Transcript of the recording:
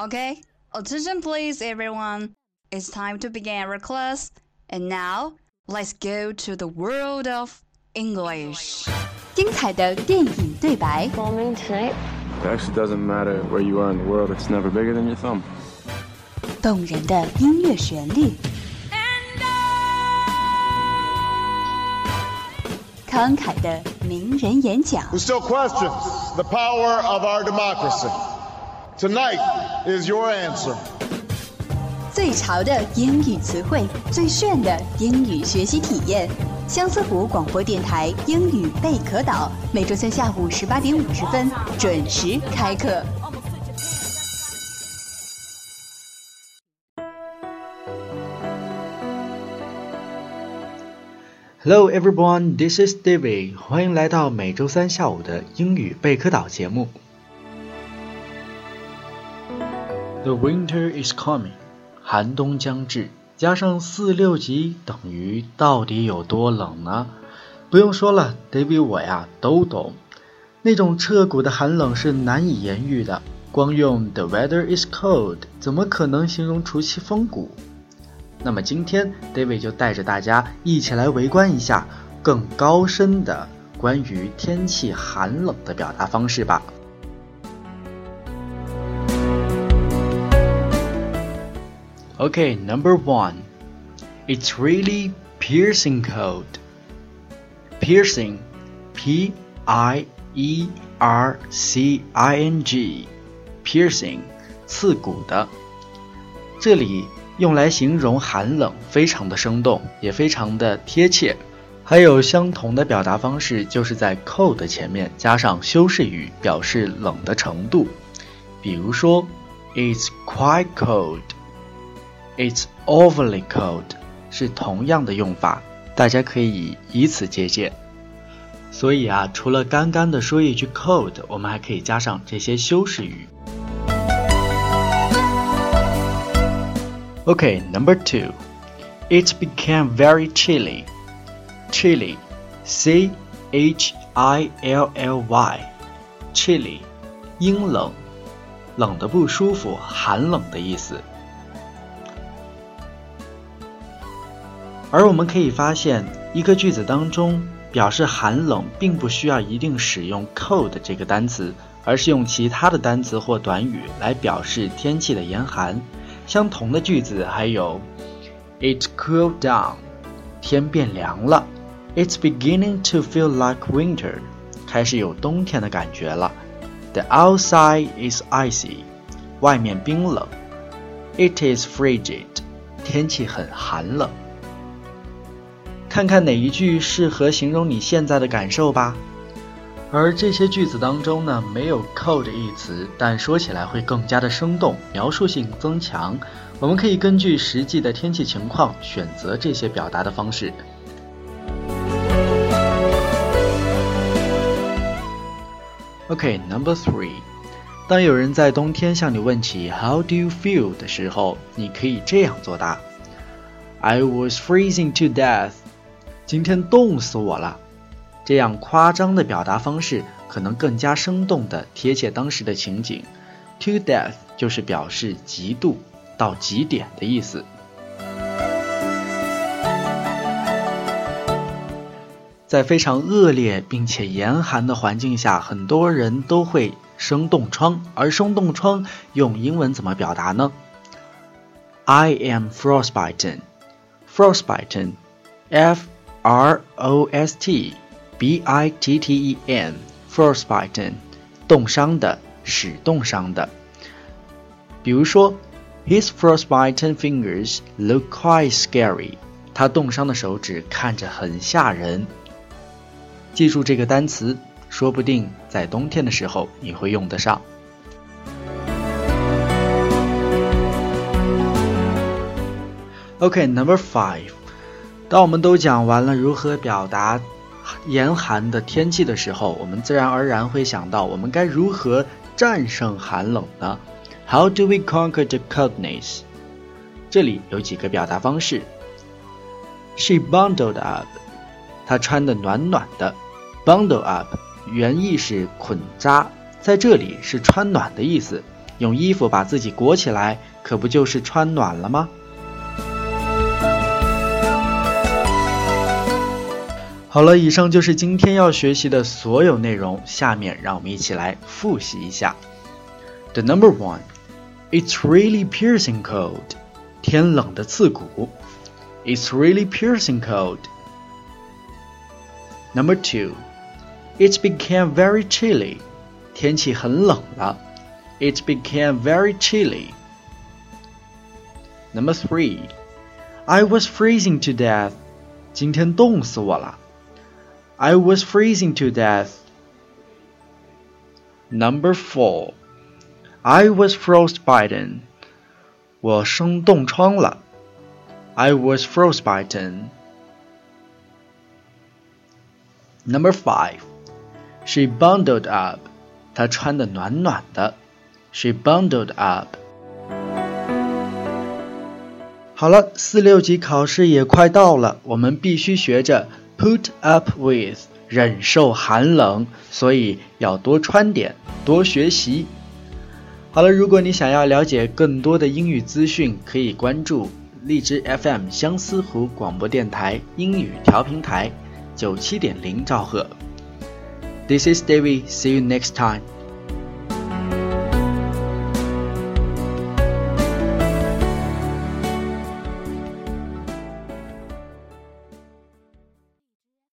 Okay, attention please everyone. It's time to begin our class. And now, let's go to the world of English. 精彩的电影对白 Bombing tonight? It actually doesn't matter where you are in the world. It's never bigger than your thumb. 动人的音乐旋律慷慨的名人演讲 Who still questions the power of our democracy? Tonight is your answer. 最潮的英语词汇，最炫的英语学习体验。相思湖广播电台英语贝壳岛，每周三下午18点50分准时开课。 Hello everyone, this is David. 欢迎来到每周三下午的英语贝壳岛节目。The winter is coming. 寒冬将至，加上4、6级等于到底有多冷呢？不用说了 ，David 我呀都懂。那种彻骨的寒冷是难以言喻的，光用 The weather is cold 怎么可能形容除其风骨？那么今天 David 就带着大家一起来围观一下更高深的关于天气寒冷的表达方式吧。Okay, number 1. It's really piercing cold. Piercing, P-I-E-R-C-I-N-G. Piercing, 刺骨的。这里用来形容寒冷，非常的生动，也非常的贴切。还有相同的表达方式，就是在 cold 前面加上修饰语，表示冷的程度。比如说 It's quite cold.It's overly cold 是同样的用法，大家可以以此借鉴。所以啊，除了刚刚的说一句 cold， 我们还可以加上这些修饰语。Okay, number 2. It became very chilly. Chilly, C-H-I-L-L-Y. Chilly, 阴冷，冷得不舒服，寒冷的意思。而我们可以发现，一个句子当中表示寒冷并不需要一定使用 cold 这个单词，而是用其他的单词或短语来表示天气的严寒。相同的句子还有 It cooled down, 天变凉了。 It's beginning to feel like winter, 开始有冬天的感觉了。 The outside is icy, 外面冰冷。 It is frigid, 天气很寒冷。看看哪一句适合形容你现在的感受吧。而这些句子当中呢，没有 cold 一词，但说起来会更加的生动，描述性增强。我们可以根据实际的天气情况选择这些表达的方式。Okay, number 3. 当有人在冬天向你问起 How do you feel 的时候，你可以这样作答 I was freezing to death.今天冻死我了。这样夸张的表达方式可能更加生动地贴切当时的情景。 To death 就是表示极度到极点的意思。在非常恶劣并且严寒的环境下，很多人都会生冻疮，而生冻疮用英文怎么表达呢？ I am frostbitten. Frostbitten, F-R-O-S-T-B-I-T-T-E-N, frostbitten, 冻伤的，使冻伤的。比如说 His frostbitten fingers look quite scary. 他冻伤的手指看着很吓人。记住这个单词，说不定在冬天的时候你会用得上。Okay, number 5. 当我们都讲完了如何表达严寒的天气的时候，我们自然而然会想到我们该如何战胜寒冷呢？ How do we conquer the coldness? 这里有几个表达方式。 She bundled up. 她穿得暖暖的。 Bundle up 原意是捆扎，在这里是穿暖的意思。 用衣服把自己裹起来，可不就是穿暖了吗？好了，以上就是今天要学习的所有内容，下面让我们一起来复习一下。The number one, it's really piercing cold. 天冷的刺骨。It's really piercing cold. Number two, it became very chilly. 天气很冷了。It became very chilly. Number three, I was freezing to death. 今天冻死我了。I was freezing to death. Number four, I was frostbitten. 我生冻疮了。I was frostbitten. Number five, she bundled up. 她穿得暖暖的。She bundled up. 好了，4、6级考试也快到了，我们必须学着 put up with， 忍受寒冷，所以要多穿点，多学习。好了，如果你想要了解更多的英语资讯，可以关注荔枝 FM 相思湖广播电台英语调频台 97.0 兆赫。This is David. See you next time.